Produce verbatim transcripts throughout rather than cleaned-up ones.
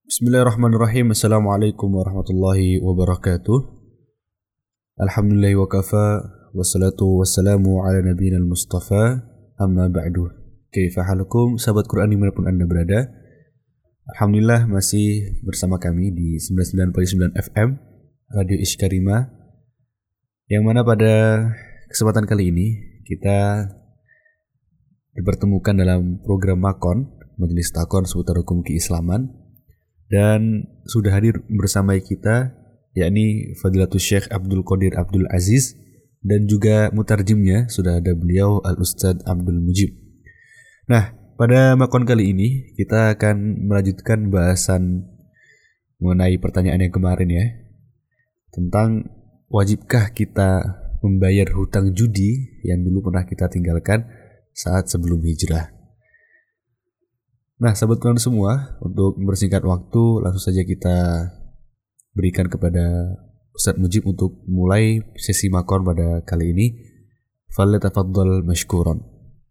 Bismillahirrahmanirrahim. Assalamualaikum warahmatullahi wabarakatuh. Alhamdulillahi wa kafa, wassalatu wassalamu ala nabiyina al-mustafa, amma ba'du. Kaifa halukum, sahabat Quran dimanapun Anda berada. Alhamdulillah masih bersama kami di sembilan puluh sembilan koma sembilan F M Radio Ishkarima, yang mana pada kesempatan kali ini kita dipertemukan dalam program Makon, Majelis Takon seputar hukum keislaman. Dan sudah hadir bersama kita yakni Fadilatul Syekh Abdul Qadir Abdul Aziz, dan juga mutarjimnya sudah ada beliau Al-Ustadz Abdul Mujib. Nah, pada makon kali ini kita akan melanjutkan bahasan mengenai pertanyaan yang kemarin ya, tentang wajibkah kita membayar hutang judi yang dulu pernah kita tinggalkan saat sebelum hijrah. Nah, sahabat Quran semua, untuk mempersingkat waktu, langsung saja kita berikan kepada Ustadz Mujib untuk mulai sesi makon pada kali ini. Falyatafaddal mashkuran.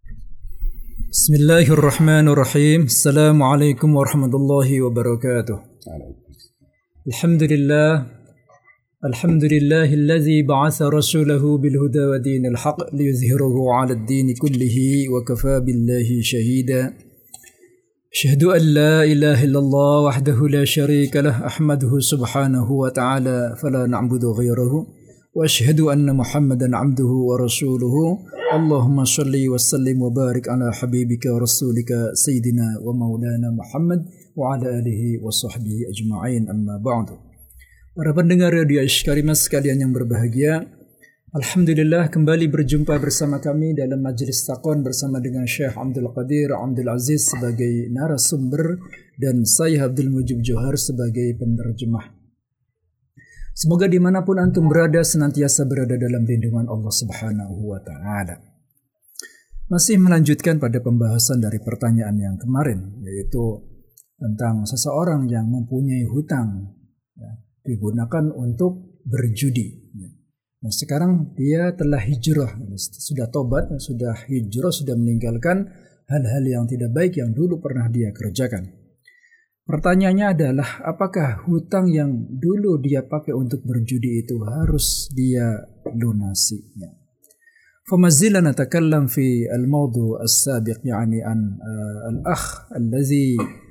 Bismillahirrahmanirrahim. Assalamualaikum warahmatullahi wabarakatuh. Alhamdulillah. Alhamdulillahilladzi ba'atha rasulahu bil huda wa dinil haqq liyuzhirahu 'ala ad-din kullihi wa kafa billahi shahida. أشهد أن لا إله إلا الله وحده لا شريك له أحمده سبحانه وتعالى فلا نعبد غيره وأشهد أن محمدا عبده ورسوله اللهم صل وسلم وبارك على حبيبك ورسولك سيدنا ومولانا محمد وعلى آله وصحبه أجمعين أما بعد. Para pendengar Radio Ishkarima sekalian yang berbahagia, Alhamdulillah kembali berjumpa bersama kami dalam Majelis Takon bersama dengan Syekh Abdul Qadir Abdul Aziz sebagai narasumber dan saya Abdul Mujib Johar sebagai penerjemah. Semoga dimanapun antum berada senantiasa berada dalam lindungan Allah Subhanahu wa Ta'ala. Masih melanjutkan pada pembahasan dari pertanyaan yang kemarin, yaitu tentang seseorang yang mempunyai hutang ya, digunakan untuk berjudi. Ya. Nah, sekarang dia telah hijrah, sudah tobat, sudah hijrah, sudah meninggalkan hal-hal yang tidak baik yang dulu pernah dia kerjakan. Pertanyaannya adalah, apakah hutang yang dulu dia pakai untuk berjudi itu harus dia lunasi? فما زلنا نتكلم في الموضوع السابق يعني عن الأخ الذي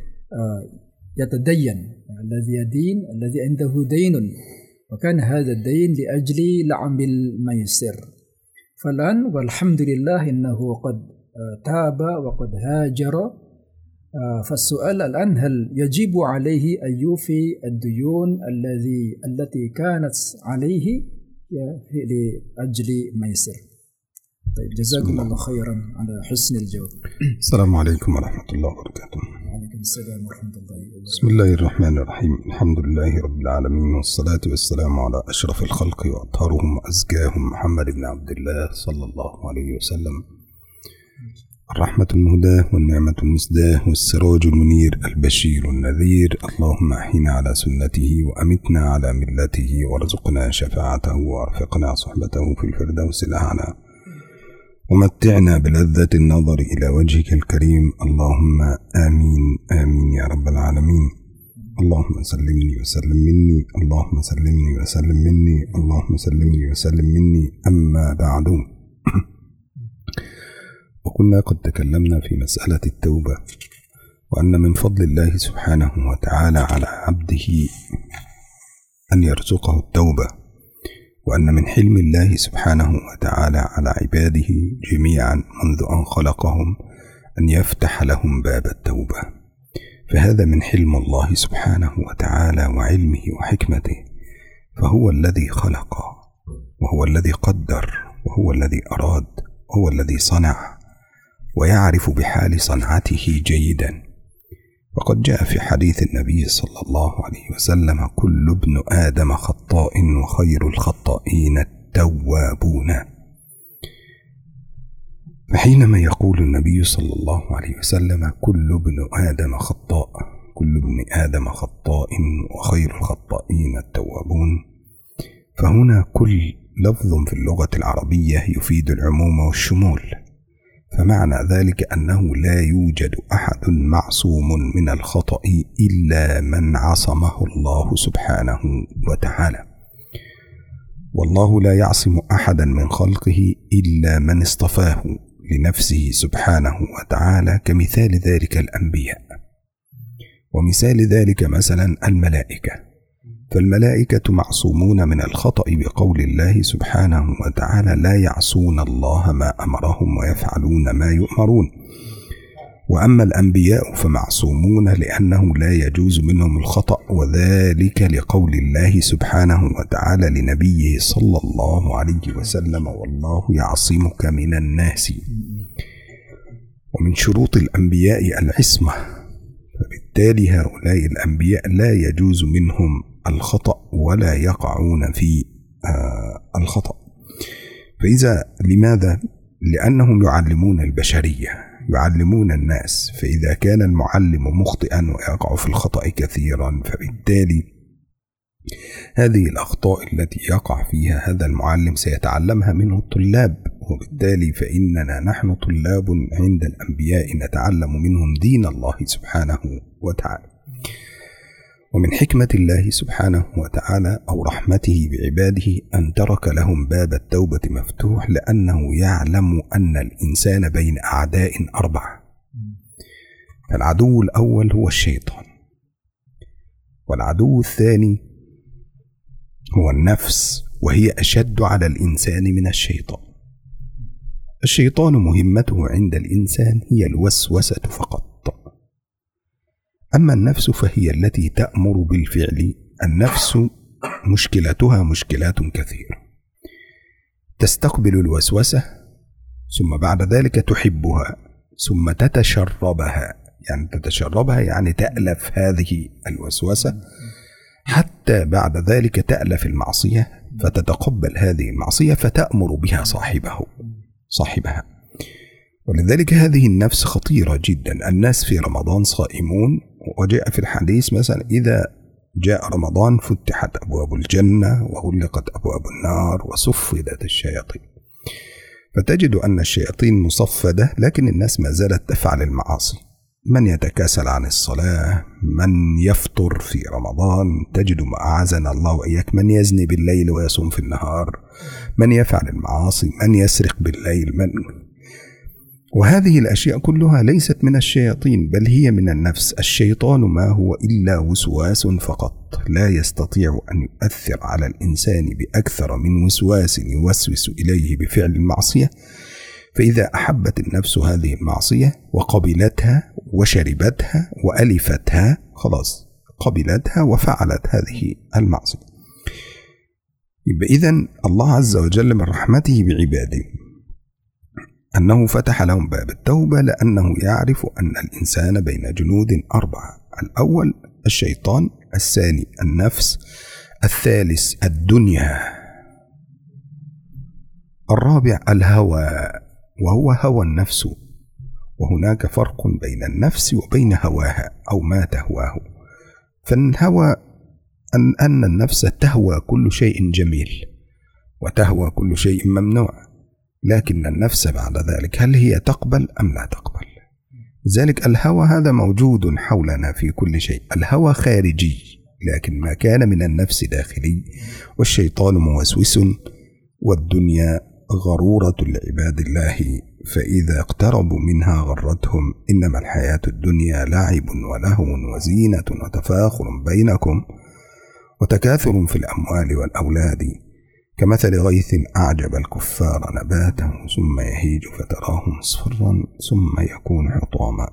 يتدين الذي يدين الذي عنده دين وكان هذا الدين لأجل لعب الميسر. فالآن والحمد لله إنه قد تاب وقد هاجر. فالسؤال الآن هل يجب عليه أن يوفي الديون الذي التي كانت عليه لأجل ميسر؟ طيب جزاكم الله خيرا على حسن الجواب. السلام عليكم ورحمة الله وبركاته. وعليكم السلام ورحمة الله وبركاته. بسم الله الرحمن الرحيم. الحمد لله رب العالمين، والصلاة والسلام على أشرف الخلق وأطهرهم وأزكاهم محمد بن عبد الله صلى الله عليه وسلم، الرحمة المهداة والنعمة المسداة والسراج المنير البشير النذير. اللهم أحينا على سنته وأمتنا على ملته وارزقنا شفاعته وارفقنا صحبته في الفردوس الأعلى، ومتعنا بلذة النظر إلى وجهك الكريم. اللهم آمين آمين يا رب العالمين. اللهم سلمني وسلم مني، اللهم سلمني وسلم مني، اللهم سلمني وسلم مني. أما بعد، وكنا قد تكلمنا في مسألة التوبة، وأن من فضل الله سبحانه وتعالى على عبده أن يرزقه التوبة، وأن من حلم الله سبحانه وتعالى على عباده جميعا منذ أن خلقهم أن يفتح لهم باب التوبة. فهذا من حلم الله سبحانه وتعالى وعلمه وحكمته، فهو الذي خلق وهو الذي قدر وهو الذي أراد وهو الذي صنع ويعرف بحال صنعته جيدا. وقد جاء في حديث النبي صلى الله عليه وسلم: كل ابن آدم خطاء وخير الخطائين التوابون. فحينما يقول النبي صلى الله عليه وسلم كل ابن آدم خطاء كل ابن آدم خطاء وخير الخطائين التوابون، فهنا كل لفظ في اللغة العربية يفيد العموم والشمول، فمعنى ذلك أنه لا يوجد أحد معصوم من الخطأ إلا من عصمه الله سبحانه وتعالى، والله لا يعصم أحدا من خلقه إلا من اصطفاه لنفسه سبحانه وتعالى، كمثال ذلك الأنبياء. ومثال ذلك مثلا الملائكة، فالملائكة معصومون من الخطأ بقول الله سبحانه وتعالى: لا يعصون الله ما أمرهم ويفعلون ما يؤمرون. وأما الأنبياء فمعصومون لأنه لا يجوز منهم الخطأ، وذلك لقول الله سبحانه وتعالى لنبيه صلى الله عليه وسلم: والله يعصمك من الناس. ومن شروط الأنبياء العصمة، فبالتالي هؤلاء الأنبياء لا يجوز منهم الخطأ ولا يقعون في آه الخطأ. فإذا لماذا؟ لأنهم يعلمون البشرية، يعلمون الناس، فإذا كان المعلم مخطئا ويقع في الخطأ كثيرا، فبالتالي هذه الأخطاء التي يقع فيها هذا المعلم سيتعلمها منه الطلاب، وبالتالي فإننا نحن طلاب عند الأنبياء نتعلم منهم دين الله سبحانه وتعالى. ومن حكمة الله سبحانه وتعالى أو رحمته بعباده أن ترك لهم باب التوبة مفتوح، لأنه يعلم أن الإنسان بين أعداء أربعة. العدو الأول هو الشيطان، والعدو الثاني هو النفس، وهي أشد على الإنسان من الشيطان. الشيطان مهمته عند الإنسان هي الوسوسة فقط، أما النفس فهي التي تأمر بالفعل. النفس مشكلتها مشكلات كثيرة، تستقبل الوسوسة ثم بعد ذلك تحبها ثم تتشربها، يعني تتشربها يعني تألف هذه الوسوسة، حتى بعد ذلك تألف المعصية فتتقبل هذه المعصية فتأمر بها صاحبه صاحبها. ولذلك هذه النفس خطيرة جدا. الناس في رمضان صائمون، وجاء في الحديث مثلا: إذا جاء رمضان فتحت أبواب الجنة وغلقت أبواب النار وصفدت الشياطين. فتجد أن الشياطين مصفدة، لكن الناس ما زالت تفعل المعاصي. من يتكاسل عن الصلاة، من يفطر في رمضان، تجد ما أعاذنا الله وإياك من يزني بالليل ويصوم في النهار، من يفعل المعاصي، من يسرق بالليل، من وهذه الأشياء كلها ليست من الشياطين بل هي من النفس. الشيطان ما هو إلا وسواس فقط، لا يستطيع أن يؤثر على الإنسان بأكثر من وسواس يوسوس إليه بفعل المعصية. فإذا أحبت النفس هذه المعصية وقبلتها وشربتها وألفتها، خلاص قبلتها وفعلت هذه المعصية. يبقى إذن الله عز وجل من رحمته بعباده أنه فتح لهم باب التوبة، لأنه يعرف أن الإنسان بين جنود أربعة: الأول الشيطان، الثاني النفس، الثالث الدنيا، الرابع الهوى وهو هوى النفس. وهناك فرق بين النفس وبين هواها أو ما تهواه. فالهوى أن, أن النفس تهوى كل شيء جميل وتهوى كل شيء ممنوع، لكن النفس بعد ذلك هل هي تقبل أم لا تقبل؟ ذلك الهوى هذا موجود حولنا في كل شيء. الهوى خارجي، لكن ما كان من النفس داخلي. والشيطان موسوس، والدنيا غرورة لعباد الله، فإذا اقتربوا منها غرتهم. إنما الحياة الدنيا لعب ولهو وزينة وتفاخر بينكم وتكاثر في الأموال والأولاد، كمثل غيث أعجب الكفار نباته ثم يهيج فتراه مصفرا ثم يكون حطاما.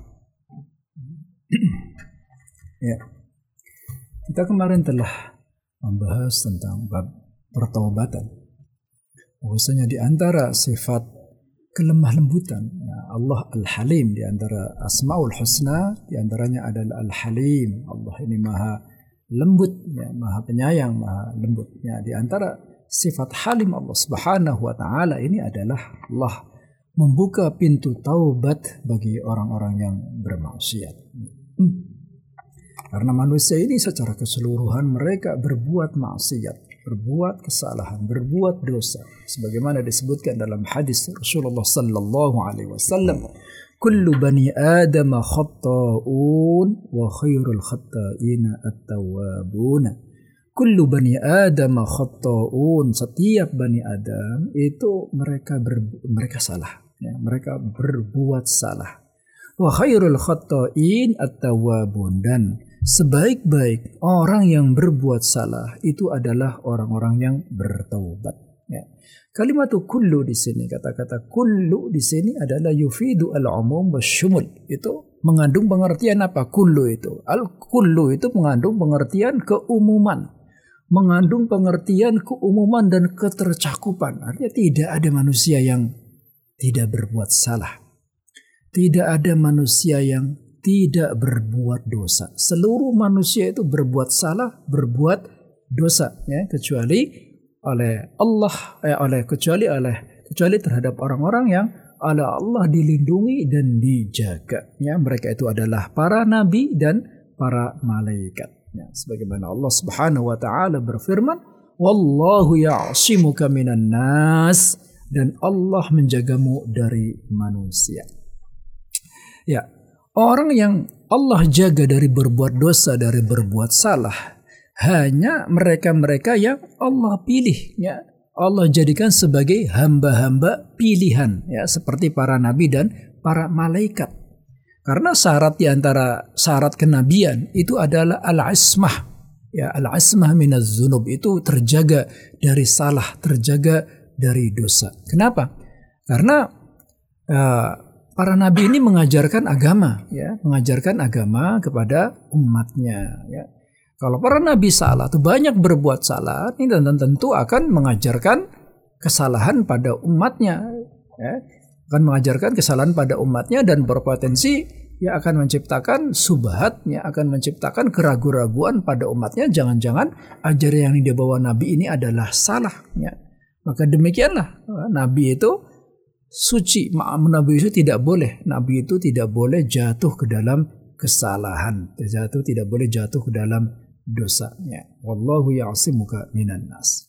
Ya, kita kemarin telah membahas tentang bab pertaubatan. Bahwasanya di antara sifat kelemah lembutan ya, Allah Al-Halim, di antara Asmaul Husna di antaranya adalah Al-Halim. Allah ini maha lembut, ya, maha penyayang, maha lembut. Ya, di antara sifat halim Allah Subhanahu wa taala ini adalah Allah membuka pintu taubat bagi orang-orang yang bermaksiat. Hmm. Karena manusia ini secara keseluruhan mereka berbuat maksiat. berbuat kesalahan, berbuat dosa. Sebagaimana disebutkan dalam hadis Rasulullah sallallahu alaihi wasallam, kullu bani Adam khatta'un wa khairul khatta'ina at-tawwabun. Kullu bani Adam khatta'un, setiap bani Adam itu mereka ber, mereka salah, ya, mereka berbuat salah. Wa khairul khatta'in at-tawwabun, dan sebaik-baik orang yang berbuat salah itu adalah orang-orang yang bertaubat. Ya. Kalimat kullu di sini, kata-kata kullu di sini adalah yufidu al-umum wasyumul. Itu mengandung pengertian apa? Kullu itu. Al-kullu itu mengandung pengertian keumuman. Mengandung pengertian keumuman dan ketercakupan. Artinya tidak ada manusia yang tidak berbuat salah. Tidak ada manusia yang tidak berbuat dosa. Seluruh manusia itu berbuat salah, berbuat dosa, ya, kecuali oleh Allah, eh, oleh kecuali oleh kecuali terhadap orang-orang yang oleh Allah dilindungi dan dijaga. Ya, mereka itu adalah para nabi dan para malaikat. Ya, sebagaimana Allah Subhanahu wa taala berfirman, "Wallahu ya'simuka minan nas," dan Allah menjagamu dari manusia. Ya, orang yang Allah jaga dari berbuat dosa, dari berbuat salah, hanya mereka-mereka yang Allah pilih, ya. Allah jadikan sebagai hamba-hamba pilihan, ya, seperti para nabi dan para malaikat. Karena syarat di antara syarat kenabian itu adalah al-ismah, ya, al-ismah minaz dzunub, itu terjaga dari salah, terjaga dari dosa. Kenapa? Karena uh, para nabi ini mengajarkan agama, ya, mengajarkan agama kepada umatnya. Ya. Kalau para nabi salah, tuh banyak berbuat salah, ini dan tentu akan mengajarkan kesalahan pada umatnya, ya. Akan mengajarkan kesalahan pada umatnya dan berpotensi ya akan menciptakan subhat, ya, akan menciptakan keraguan-raguan pada umatnya. Jangan-jangan ajaran yang dibawa nabi ini adalah salah. Ya. Maka demikianlah nabi itu suci, nabi itu tidak boleh, nabi itu tidak boleh jatuh ke dalam kesalahan, jatuh tidak boleh jatuh ke dalam dosanya. Wallahu ya'simuka minan nas.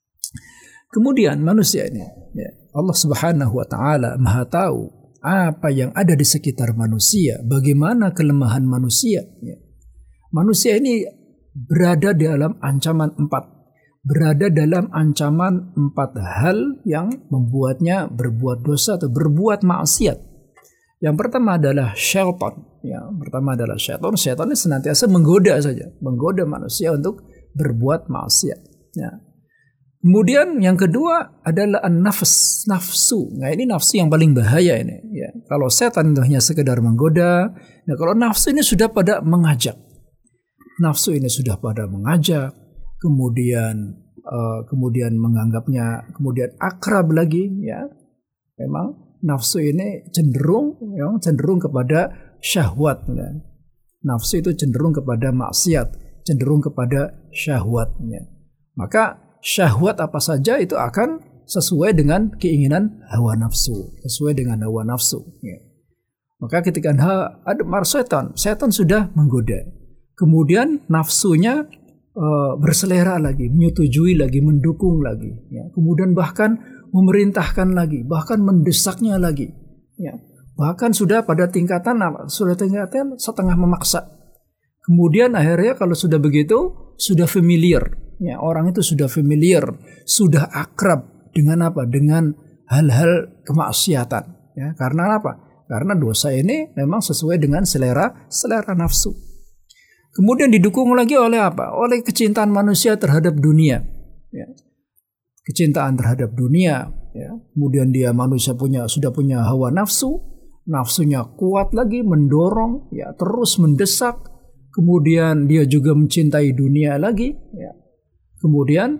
Kemudian manusia ini, ya, Allah Subhanahu wa taala Maha tahu apa yang ada di sekitar manusia, bagaimana kelemahan manusia. Ya. Manusia ini berada dalam ancaman empat. Berada dalam ancaman empat hal yang membuatnya berbuat dosa atau berbuat maksiat. Yang pertama adalah syaitan. Ya, pertama adalah syaitan. Syaitan ini senantiasa menggoda saja, menggoda manusia untuk berbuat maksiat. Ya. Kemudian yang kedua adalah an-nafs, nafsu. Nah, ini nafsu yang paling bahaya ini. Ya. Kalau setan itu hanya sekedar menggoda, nah kalau nafsu ini sudah pada mengajak. Nafsu ini sudah pada mengajak. Kemudian uh, kemudian menganggapnya kemudian akrab lagi, ya. Memang nafsu ini cenderung ya, cenderung kepada syahwat, ya. Nafsu itu cenderung kepada maksiat, cenderung kepada syahwatnya. Maka syahwat apa saja itu akan sesuai dengan keinginan hawa nafsu, sesuai dengan hawa nafsu, ya. Maka ketika ada mar setan, setan sudah menggoda. Kemudian nafsunya Uh, berselera lagi, menyetujui lagi, mendukung lagi, ya. Kemudian bahkan memerintahkan lagi, bahkan mendesaknya lagi, ya. Bahkan sudah pada tingkatan apa? Sudah tingkatan setengah memaksa. Kemudian akhirnya kalau sudah begitu, sudah familiar, ya. Orang itu sudah familiar, sudah akrab dengan apa? Dengan hal-hal kemaksiatan, ya. Karena apa? Karena dosa ini memang sesuai dengan selera selera nafsu. Kemudian didukung lagi oleh apa? Oleh kecintaan manusia terhadap dunia. Ya. Kecintaan terhadap dunia. Ya. Kemudian dia manusia punya sudah punya hawa nafsu, nafsunya kuat lagi, mendorong, ya, terus mendesak. Kemudian dia juga mencintai dunia lagi. Ya. Kemudian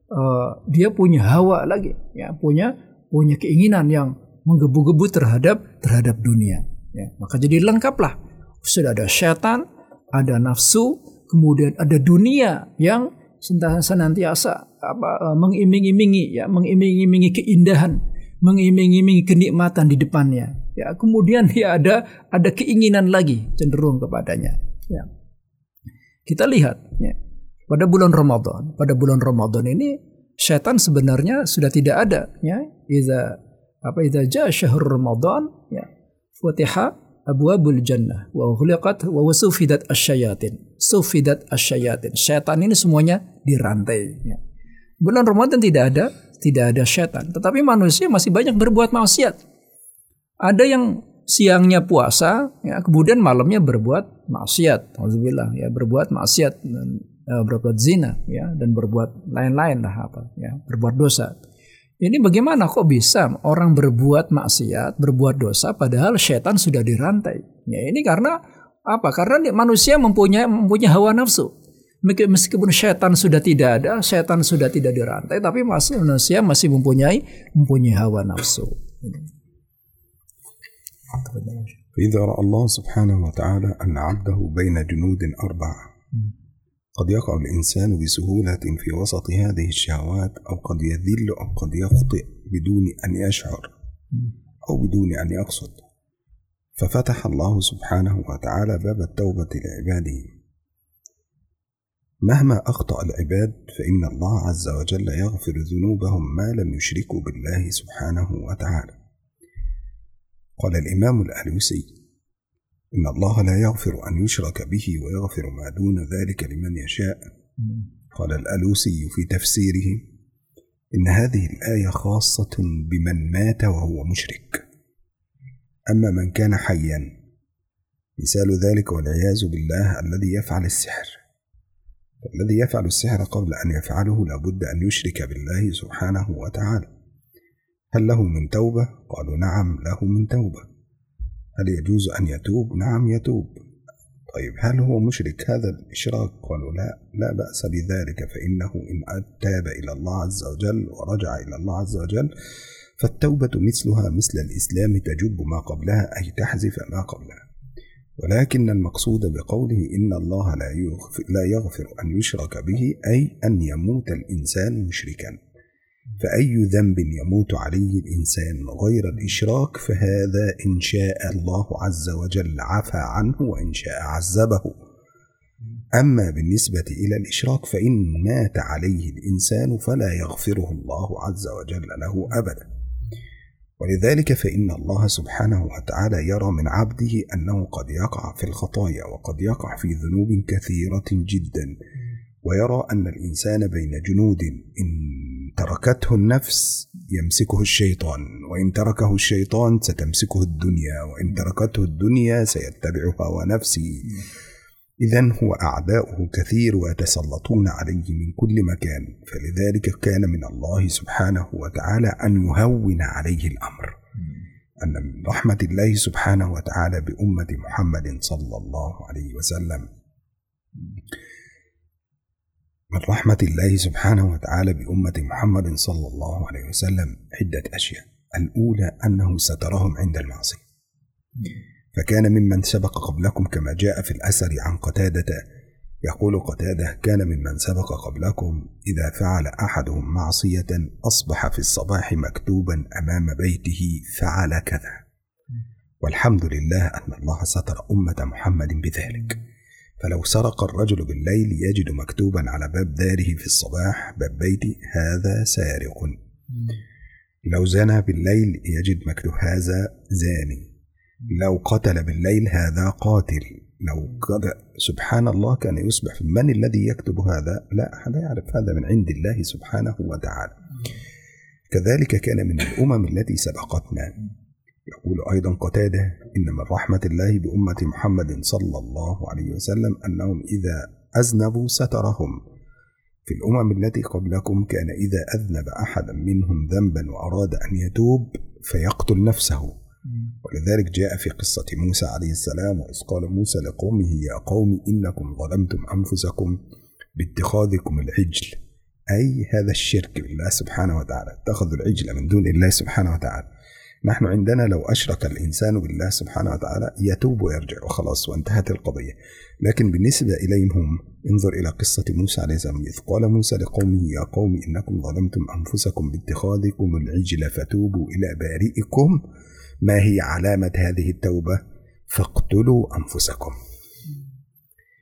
uh, dia punya hawa lagi, ya, punya punya keinginan yang menggebu-gebu terhadap terhadap dunia. Ya. Maka jadi lengkaplah. Sudah ada syaitan, ada nafsu, kemudian ada dunia yang senantiasa apa, mengiming-imingi, ya, mengiming-imingi keindahan, mengiming-imingi kenikmatan di depannya. Ya, kemudian dia ada ada keinginan lagi cenderung kepadanya. Ya. Kita lihat, ya. pada bulan Ramadan. Pada bulan Ramadan ini syaitan sebenarnya sudah tidak ada, ya. Iza apa idza jaa syahrul Ramadan, ya. Futiha abwabul jannah wa ghuliqat wa sufidat asyayatin. Sufidat asyayatin. Syaitan ini semuanya dirantai, ya. Bulan Ramadan tidak ada, tidak ada syaitan, tetapi manusia masih banyak berbuat maksiat. Ada yang siangnya puasa, ya, kemudian malamnya berbuat maksiat, alhamdulillah, ya, berbuat maksiat dan uh, berbuat zina, ya, dan berbuat lain-lain lah apa, ya, berbuat dosa. Ini bagaimana kok bisa orang berbuat maksiat, berbuat dosa, padahal syaitan sudah dirantai? Ya, ini karena apa? Karena manusia mempunyai mempunyai hawa nafsu. Meskipun syaitan sudah tidak ada, syaitan sudah tidak dirantai, tapi masih manusia masih mempunyai mempunyai hawa nafsu. فإذا رأى الله سبحانه وتعالى أن عبده بين جنود أربعة قد يقع الإنسان بسهولة في وسط هذه الشهوات، أو قد يذل أو قد يخطئ بدون أن يشعر أو بدون أن يقصد، ففتح الله سبحانه وتعالى باب التوبة لعباده. مهما أخطأ العباد فإن الله عز وجل يغفر ذنوبهم ما لم يشركوا بالله سبحانه وتعالى. قال الإمام الألوسي إن الله لا يغفر أن يشرك به ويغفر ما دون ذلك لمن يشاء. قال الألوسي في تفسيره إن هذه الآية خاصة بمن مات وهو مشرك، أما من كان حيا مثال ذلك والعياذ بالله الذي يفعل السحر، الذي يفعل السحر قبل أن يفعله لابد أن يشرك بالله سبحانه وتعالى. هل له من توبة؟ قالوا نعم له من توبة. هل يجوز أن يتوب؟ نعم يتوب. طيب هل هو مشرك هذا الإشراك؟ قالوا لا لا بأس بذلك، فإنه إن تاب إلى الله عز وجل ورجع إلى الله عز وجل فالتوبة مثلها مثل الإسلام تجب ما قبلها، أي تحذف ما قبلها. ولكن المقصود بقوله إن الله لا يغفر, لا يغفر أن يشرك به أي أن يموت الإنسان مشركا، فأي ذنب يموت عليه الإنسان غير الإشراك فهذا إن شاء الله عز وجل عفى عنه وإن شاء عذبه. أما بالنسبة إلى الإشراك فإن مات عليه الإنسان فلا يغفره الله عز وجل له أبدا. ولذلك فإن الله سبحانه وتعالى يرى من عبده أنه قد يقع في الخطايا وقد يقع في ذنوب كثيرة جدا، ويرى أن الإنسان بين جنود، إن تركته النفس يمسكه الشيطان، وإن تركه الشيطان ستمسكه الدنيا، وإن تركته الدنيا سيتبع هوى نفسه. إذن هو أعداؤه كثير ويتسلطون عليه من كل مكان، فلذلك كان من الله سبحانه وتعالى أن يهون عليه الأمر، أن من رحمة الله سبحانه وتعالى بأمة محمد صلى الله عليه وسلم من رحمة الله سبحانه وتعالى بأمة محمد صلى الله عليه وسلم عدة أشياء. الأولى أنه سترهم عند المعصية، فكان ممن سبق قبلكم كما جاء في الأثر عن قتادة، يقول قتادة كان ممن سبق قبلكم إذا فعل أحدهم معصية أصبح في الصباح مكتوبا أمام بيته فعل كذا، والحمد لله أن الله ستر أمة محمد بذلك. فلو سرق الرجل بالليل يجد مكتوبا على باب داره في الصباح باب بيتي هذا سارق، لو زنى بالليل يجد مكتوب هذا زاني، لو قتل بالليل هذا قاتل، لو قد سبحان الله كان يصبح من الذي يكتب هذا؟ لا أحد يعرف، هذا من عند الله سبحانه وتعالى. كذلك كان من الأمم التي سبقتنا. يقول أيضا قتادة إن من رحمة الله بأمة محمد صلى الله عليه وسلم أنهم إذا أذنبوا سترهم. في الأمم التي قبلكم كان إذا أذنب أحدا منهم ذنبا وأراد أن يتوب فيقتل نفسه، ولذلك جاء في قصة موسى عليه السلام وإذ قال موسى لقومه يا قوم إنكم ظلمتم أنفسكم باتخاذكم العجل، أي هذا الشرك بالله سبحانه وتعالى، اتخذوا العجل من دون الله سبحانه وتعالى. نحن عندنا لو أشرك الإنسان بالله سبحانه وتعالى يتوب ويرجع وخلاص وانتهت القضية، لكن بالنسبة إليهم هم انظر إلى قصة موسى عليه السلام إذ قال موسى لقومه يا قوم إنكم ظلمتم أنفسكم باتخاذكم العجل فتوبوا إلى بارئكم. ما هي علامة هذه التوبة؟ فاقتلوا أنفسكم.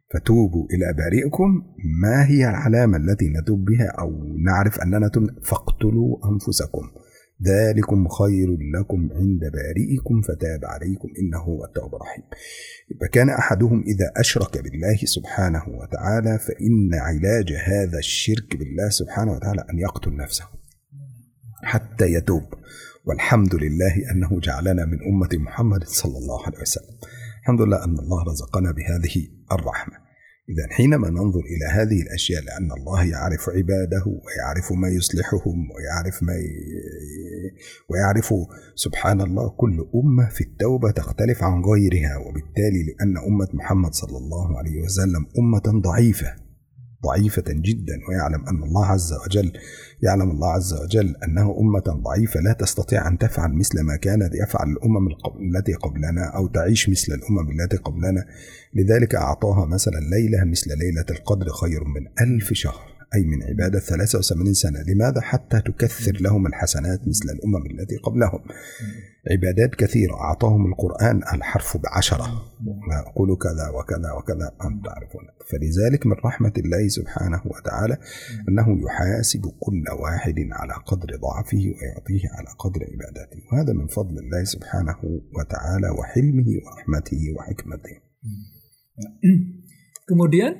فتوبوا إلى بارئكم. ما هي العلامة التي نتوب بها أو نعرف أننا تبنا؟ فاقتلوا أنفسكم ذلكم خير لكم عند بارئكم فتاب عليكم إنه هو التواب الرحيم. فكان أحدهم إذا أشرك بالله سبحانه وتعالى فإن علاج هذا الشرك بالله سبحانه وتعالى أن يقتل نفسه حتى يتوب. والحمد لله أنه جعلنا من أمة محمد صلى الله عليه وسلم. الحمد لله أن الله رزقنا بهذه الرحمة. إذا حينما ننظر إلى هذه الأشياء لأن الله يعرف عباده ويعرف ما يصلحهم ويعرف ما ي... ويعرف سبحان الله كل أمة في التوبة تختلف عن غيرها، وبالتالي لأن أمة محمد صلى الله عليه وسلم أمة ضعيفة ضعيفة جدا، ويعلم أن الله عز وجل يعلم الله عز وجل أنه أمة ضعيفة لا تستطيع أن تفعل مثل ما كانت يفعل الأمم التي قبلنا أو تعيش مثل الأمم التي قبلنا. لذلك أعطاها مثلا ليلة مثل ليلة القدر خير من ألف شهر، أي من عبادة ثلاثة وثمانين سنة. لماذا؟ حتى تكثر لهم الحسنات مثل الأمم التي قبلهم. عبادات كثيرة. أعطاهم القرآن الحرف بعشرة، أقول كذا وكذا وكذا أن تعرفون. فلذلك من رحمة الله سبحانه وتعالى أنه يحاسب كل واحد على قدر ضعفه ويعطيه على قدر عبادته، وهذا من فضل الله سبحانه وتعالى وحلمه ورحمته وحكمته. Kemudian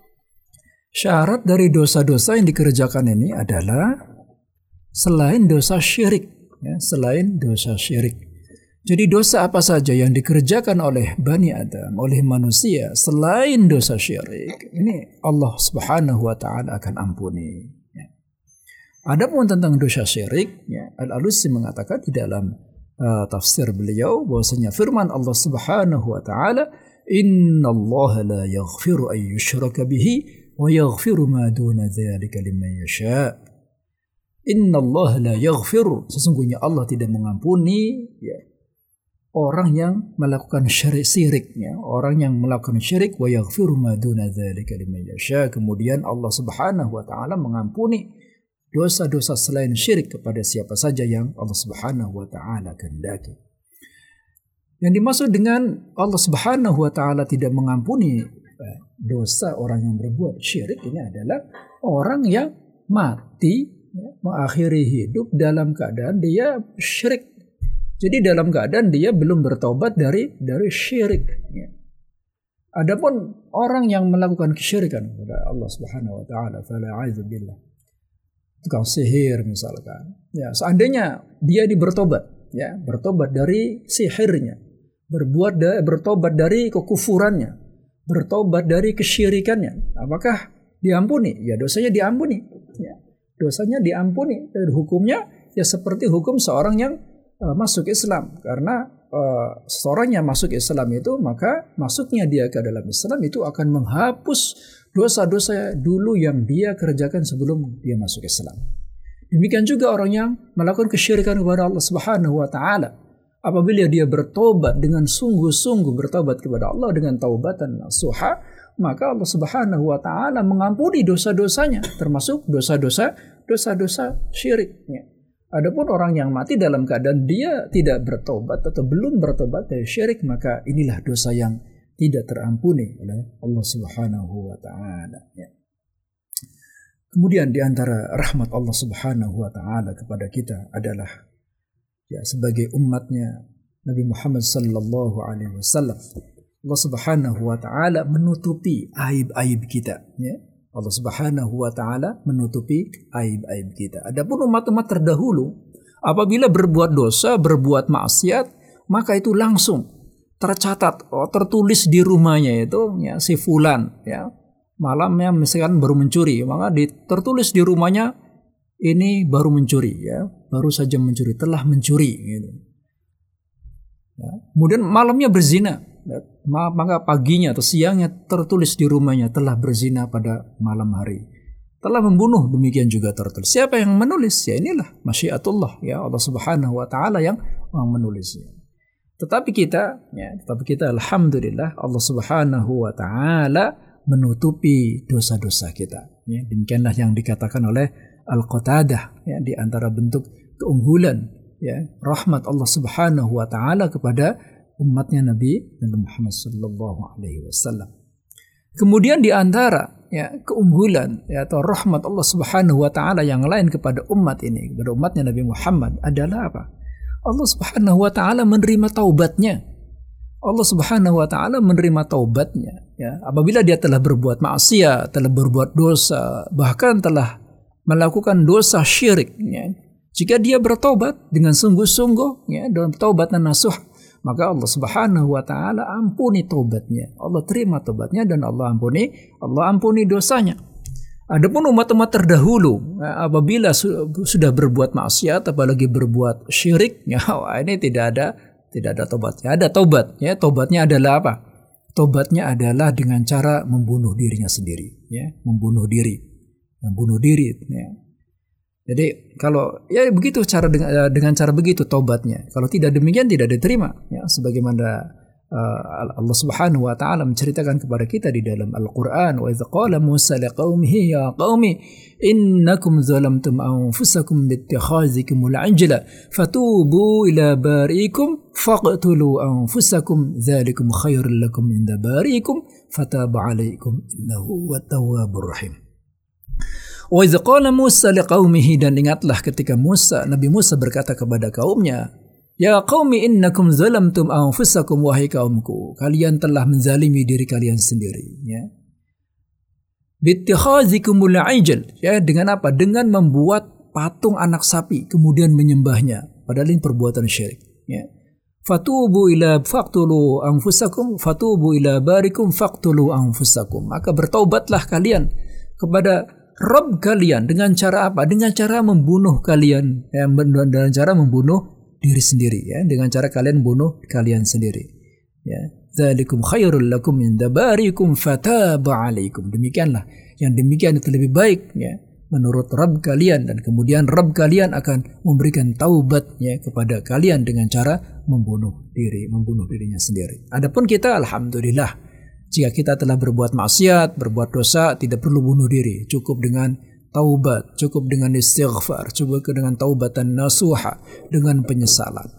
syarat dari dosa-dosa yang dikerjakan ini adalah selain dosa syirik, ya, selain dosa syirik. Jadi dosa apa saja yang dikerjakan oleh Bani Adam, oleh manusia selain dosa syirik, ini Allah Subhanahu wa taala akan ampuni. Ya. Adapun tentang dosa syirik, ya, Al-Alusi mengatakan di dalam uh, tafsir beliau bahwasanya firman Allah Subhanahu wa taala, "Innallaha la yaghfiru an yushraka bihi wa yaghfiru ma duna dzalika liman yasha." Innallaha la yaghfiru, sesungguhnya Allah tidak mengampuni, ya, orang yang melakukan syirik, syiriknya, orang yang melakukan syirik, wa yaghfiru ma duna dzalika liman yasha. Kemudian Allah Subhanahu wa taala mengampuni dosa-dosa selain syirik kepada siapa saja yang Allah Subhanahu wa taala kehendaki. Yang dimaksud dengan Allah Subhanahu wa taala tidak mengampuni dosa orang yang berbuat syirik ini adalah orang yang mati, ya, mengakhiri hidup dalam keadaan dia syirik. Jadi dalam keadaan dia belum bertobat dari dari syirik. Ya. Adapun orang yang melakukan kesyirikan kepada Allah Subhanahu wa taala, fala'idzu billah, tukang sihir misalkan, ya, seandainya dia bertobat, ya, bertobat dari sihirnya, berbuat da, bertobat dari kekufurannya, bertobat dari kesyirikannya, apakah diampuni? Ya, dosanya diampuni, ya. Dosanya diampuni, dan hukumnya ya seperti hukum seorang yang uh, masuk Islam. Karena uh, seorang yang masuk Islam itu, maka masuknya dia ke dalam Islam itu akan menghapus dosa-dosa dulu yang dia kerjakan sebelum dia masuk Islam. Demikian juga orang yang melakukan kesyirikan kepada Allah Subhanahu wa taala, apabila dia bertobat dengan sungguh-sungguh bertobat kepada Allah dengan taubatan nasuha, maka Allah Subhanahu wa taala mengampuni dosa-dosanya, termasuk dosa-dosa dosa-dosa syiriknya. Adapun orang yang mati dalam keadaan dia tidak bertobat atau belum bertobat dari syirik, maka inilah dosa yang tidak terampuni oleh Allah Subhanahu wa taala, ya. Kemudian di antara rahmat Allah Subhanahu wa taala kepada kita adalah, ya, sebagai umatnya Nabi Muhammad sallallahu alaihi wasallam, Allah Subhanahu wa taala menutupi aib-aib kita, ya. Allah Subhanahu wa taala menutupi aib-aib kita. Adapun umat-umat terdahulu apabila berbuat dosa, berbuat maksiat, maka itu langsung tercatat, oh, tertulis di rumahnya itu, ya, si fulan, ya, malamnya misalkan baru mencuri, maka tertulis di rumahnya ini baru mencuri, ya, baru saja mencuri, telah mencuri, gitu. Ya. Kemudian malamnya berzina, ya, maka paginya atau siangnya tertulis di rumahnya telah berzina pada malam hari, telah membunuh, demikian juga tertulis. Siapa yang menulis? Ya inilah masyiatullah, ya, Allah Subhanahu wa taala yang menulisnya. Tetapi kita, ya, tetapi kita alhamdulillah Allah Subhanahu wa taala menutupi dosa-dosa kita. Ya, demikianlah yang dikatakan oleh Al-Qatadah, ya, di antara bentuk keunggulan, ya, rahmat Allah Subhanahu wa taala kepada umatnya Nabi Nabi Muhammad sallallahu alaihi wasallam. Kemudian di antara ya keunggulan ya atau rahmat Allah Subhanahu wa taala yang lain kepada umat ini, kepada umatnya Nabi Muhammad adalah apa? Allah Subhanahu wa taala menerima taubatnya. Allah Subhanahu wa taala menerima taubatnya ya apabila dia telah berbuat maksiat, telah berbuat dosa, bahkan telah melakukan dosa syirik ya. Jika dia bertobat dengan sungguh-sungguh ya dalam taubat nasuh, maka Allah Subhanahu wa taala ampuni taubatnya. Allah terima taubatnya dan Allah ampuni, Allah ampuni dosanya. Adapun umat-umat terdahulu ya, apabila su- sudah berbuat maksiat apalagi berbuat syirik ya ini tidak ada tidak ada taubatnya. Ada taubat ya, taubatnya adalah apa? Taubatnya adalah dengan cara membunuh dirinya sendiri ya, membunuh diri. Membunuh diri ya. Jadi kalau ya begitu cara dengan, dengan cara begitu taubatnya. Kalau tidak demikian tidak diterima ya sebagaimana uh, Allah Subhanahu wa taala menceritakan kepada kita di dalam Al-Qur'an, wa idz qala Musa liqaumihi ya qaumi innakum zalamtum anfusakum bittikhazikumul ajla fatubu ila bariikum faqtulu anfusakum dzalikum khairul lakum inda bariikum fataba alaikum innahu wat-tawwabur rahim. Wa idz qala Musa liqaumihi, dan ingatlah ketika Musa Nabi Musa berkata kepada kaumnya, ya qaumi innakum zalamtum anfusakum, wahai kaumku kalian telah menzalimi diri kalian sendiri ya. Bittikhazikumul ajl ya, dengan apa? Dengan membuat patung anak sapi kemudian menyembahnya, padahal ini perbuatan syirik ya. Fatubu ila faqtulu anfusakum fatubu ila barikum faqtulu anfusakum, maka bertaubatlah kalian kepada Rabb kalian dengan cara apa? Dengan cara membunuh kalian ya, dengan cara membunuh diri sendiri ya, dengan cara kalian bunuh kalian sendiri ya. Dzalikum khairul lakum inda barikum fataba alaikum, demikianlah yang demikian itu lebih baik ya menurut Rabb kalian, dan kemudian Rabb kalian akan memberikan taubat ya kepada kalian dengan cara membunuh diri, membunuh dirinya sendiri. Adapun kita alhamdulillah, jika kita telah berbuat maksiat, berbuat dosa, tidak perlu bunuh diri, cukup dengan taubat, cukup dengan istighfar, cukup dengan taubatan nasuha, dengan penyesalan.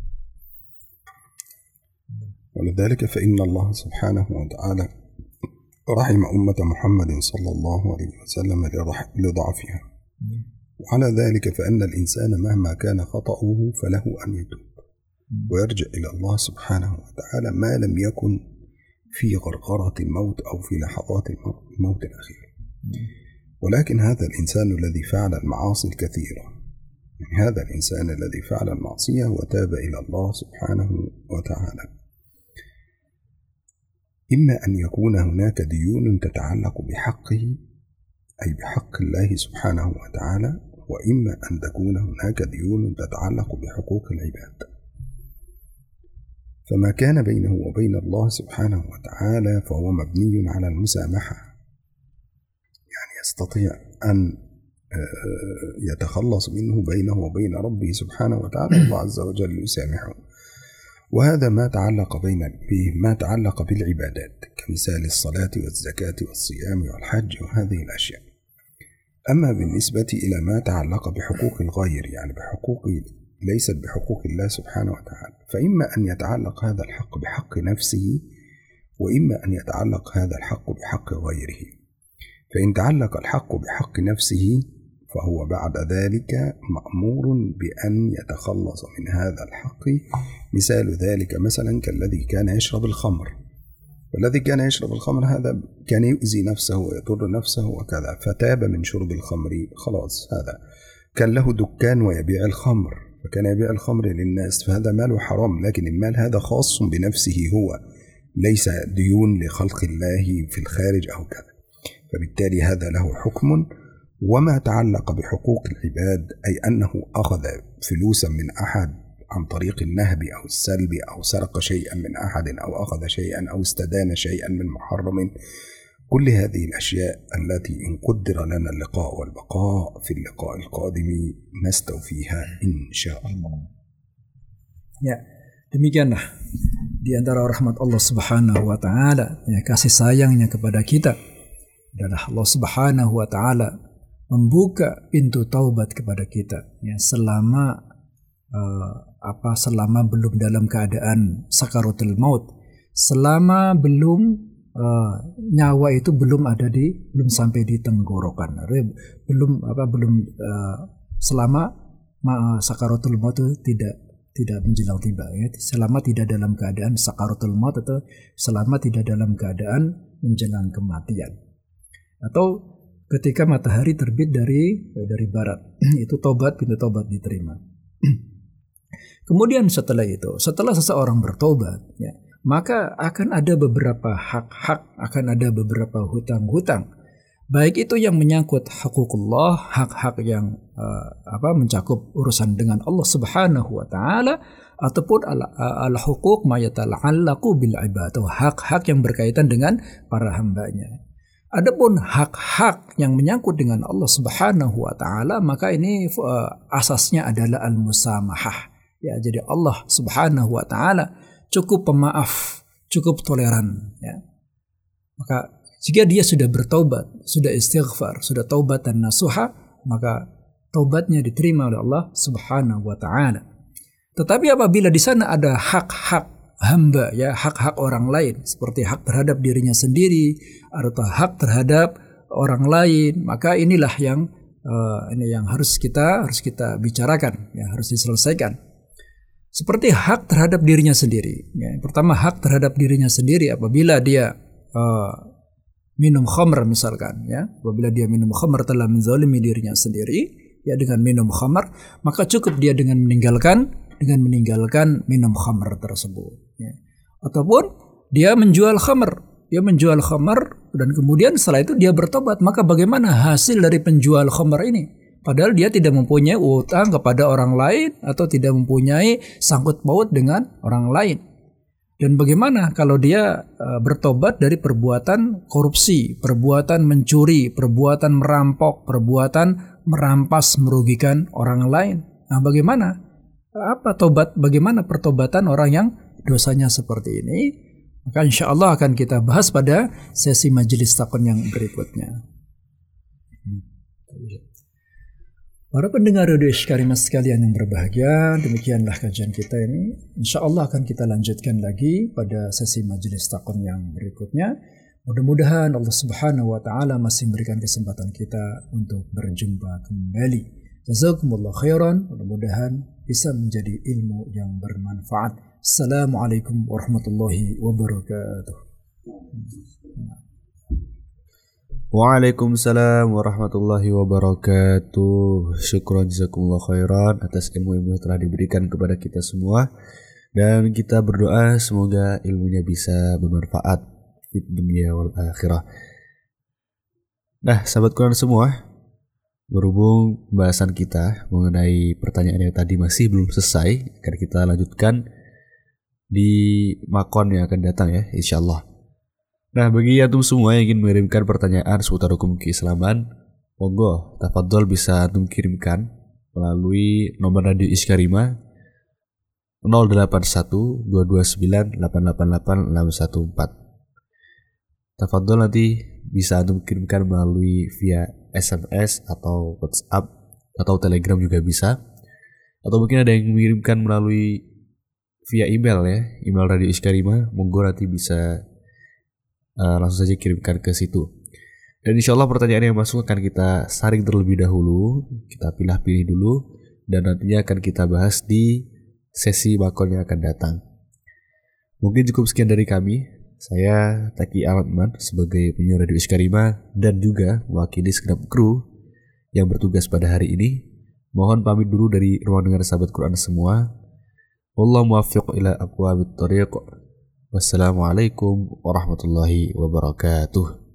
ولذلك فإن الله سبحانه وتعالى رحم أمة محمد صلى الله عليه وسلم لضعفها، وعلى ذلك فإن الإنسان مهما كان خطأه فله أن يتوب ويرجع إلى الله سبحانه وتعالى ما لم يكن في غرغرة الموت أو في لحظات الموت الأخير. ولكن هذا الإنسان الذي فعل المعاصي الكثيرة، هذا الإنسان الذي فعل المعصية وتاب إلى الله سبحانه وتعالى، إما أن يكون هناك ديون تتعلق بحقه أي بحق الله سبحانه وتعالى، وإما أن تكون هناك ديون تتعلق بحقوق العباد. فما كان بينه وبين الله سبحانه وتعالى فهو مبني على المسامحة، يعني يستطيع أن يتخلص منه بينه وبين ربه سبحانه وتعالى، الله عز وجل يسامحه. وهذا ما تعلق بين به ما تعلق بالعبادات كمثال الصلاة والزكاة والصيام والحج وهذه الأشياء. أما بالنسبة إلى ما تعلق بحقوق الغير، يعني بحقوق ليست بحقوق الله سبحانه وتعالى، فإما أن يتعلق هذا الحق بحق نفسه، وإما أن يتعلق هذا الحق بحق غيره. فإن تعلق الحق بحق نفسه فهو بعد ذلك مأمور بأن يتخلص من هذا الحق. مثال ذلك مثلا كالذي كان يشرب الخمر، والذي كان يشرب الخمر هذا كان يؤذي نفسه ويضر نفسه وكذا، فتاب من شرب الخمر، خلاص هذا كان له دكان ويبيع الخمر، فكان يبيع الخمر للناس، فهذا ماله حرام، لكن المال هذا خاص بنفسه هو، ليس ديون لخلق الله في الخارج أو كذا، فبالتالي هذا له حكم. وما تعلق بحقوق العباد أي أنه أخذ فلوسا من أحد عن طريق النهب أو السلب أو سرق شيئا من أحد أو أخذ شيئا أو استدان شيئا من محرم، كل هذه الأشياء التي إن قدر لنا اللقاء والبقاء في اللقاء القادم نستوفيها إن شاء الله. Ya, demikianlah di antara rahmat Allah Subhanahu wa taala, ya, kasih sayangnya kepada kita adalah Allah Subhanahu wa taala membuka pintu taubat kepada kita ya, selama uh, apa selama belum dalam keadaan sakaratul maut, selama belum uh, nyawa itu belum ada di belum sampai di tenggorokan, belum apa belum uh, selama uh, sakaratul maut itu tidak tidak menjelang tiba ya, selama tidak dalam keadaan sakaratul maut atau selama tidak dalam keadaan menjelang kematian, atau ketika matahari terbit dari dari barat itu tobat, pintu tobat diterima. Kemudian setelah itu, setelah seseorang bertobat ya, maka akan ada beberapa hak-hak, akan ada beberapa hutang-hutang, baik itu yang menyangkut hukukullah, hak-hak yang uh, apa mencakup urusan dengan Allah Subhanahu wa taala, ataupun al-huquq ma yatala'allaqu bil ibad, atau hak-hak yang berkaitan dengan para hambanya. Adapun hak-hak yang menyangkut dengan Allah Subhanahu wa taala, maka ini uh, asasnya adalah al-musamahah. Ya, jadi Allah Subhanahu wa taala cukup pemaaf, cukup toleran ya. Maka jika dia sudah bertaubat, sudah istighfar, sudah taubat dan nasuha, maka taubatnya diterima oleh Allah Subhanahu wa taala. Tetapi apabila di sana ada hak-hak hamba ya, hak-hak orang lain seperti hak terhadap dirinya sendiri atau hak terhadap orang lain, maka inilah yang uh, ini yang harus kita harus kita bicarakan ya, harus diselesaikan. Seperti hak terhadap dirinya sendiri ya. Pertama, hak terhadap dirinya sendiri apabila dia uh, minum khamr misalkan ya, apabila dia minum khamr telah menzalimi dirinya sendiri ya dengan minum khamr, maka cukup dia dengan meninggalkan dengan meninggalkan minum khamr tersebut ya. Ataupun dia menjual khamr, dia menjual khamr dan kemudian setelah itu dia bertobat, maka bagaimana hasil dari penjual khamr ini? Padahal dia tidak mempunyai utang kepada orang lain atau tidak mempunyai sangkut paut dengan orang lain. Dan bagaimana kalau dia uh, bertobat dari perbuatan korupsi, perbuatan mencuri, perbuatan merampok, perbuatan merampas merugikan orang lain? Nah, bagaimana? Apa tobat, bagaimana pertobatan orang yang dosanya seperti ini? Maka insya Allah akan kita bahas pada sesi majelis takon yang berikutnya. Para pendengar Radio Iskarimah sekalian yang berbahagia, demikianlah kajian kita ini. Insya Allah akan kita lanjutkan lagi pada sesi majelis takon yang berikutnya. Mudah-mudahan Allah Subhanahu wa taala masih memberikan kesempatan kita untuk berjumpa kembali. Jazakumullah khairan, mudah-mudahan bisa menjadi ilmu yang bermanfaat. Assalamualaikum warahmatullahi wabarakatuh. Waalaikumsalam warahmatullahi wabarakatuh. Syukran jazakumullah khairan atas ilmu-ilmu yang telah diberikan kepada kita semua. Dan kita berdoa semoga ilmunya bisa bermanfaat di dunia wal akhirah. Nah, sahabat Quran semua, berhubung pembahasan kita mengenai pertanyaan yang tadi masih belum selesai, akan kita lanjutkan di makon yang akan datang ya, insyaallah. Nah, bagi antum semua yang ingin mengirimkan pertanyaan seputar hukum keislaman, monggo tafadhol bisa antum kirimkan melalui nomor radio Iskarimah nol delapan satu dua dua sembilan delapan delapan delapan enam satu empat. Tafadhol nanti bisa antum kirimkan melalui via S M S atau WhatsApp atau Telegram juga bisa. Atau mungkin ada yang mengirimkan melalui via email ya, email Radio Iskarimah, monggo nanti bisa Uh, langsung saja kirimkan ke situ. Dan insya Allah pertanyaan yang masuk akan kita saring terlebih dahulu, kita pilih-pilih dulu, dan nantinya akan kita bahas di sesi makon yang akan datang. Mungkin cukup sekian dari kami. Saya Taki Alatman sebagai penyiar Radio Iskarimah dan juga mewakili segenap kru yang bertugas pada hari ini. Mohon pamit dulu dari ruang dengar sahabat Quran semua. Wallahu muwaffiq ila aqwamit thoriq. Wassalamualaikum warahmatullahi wabarakatuh.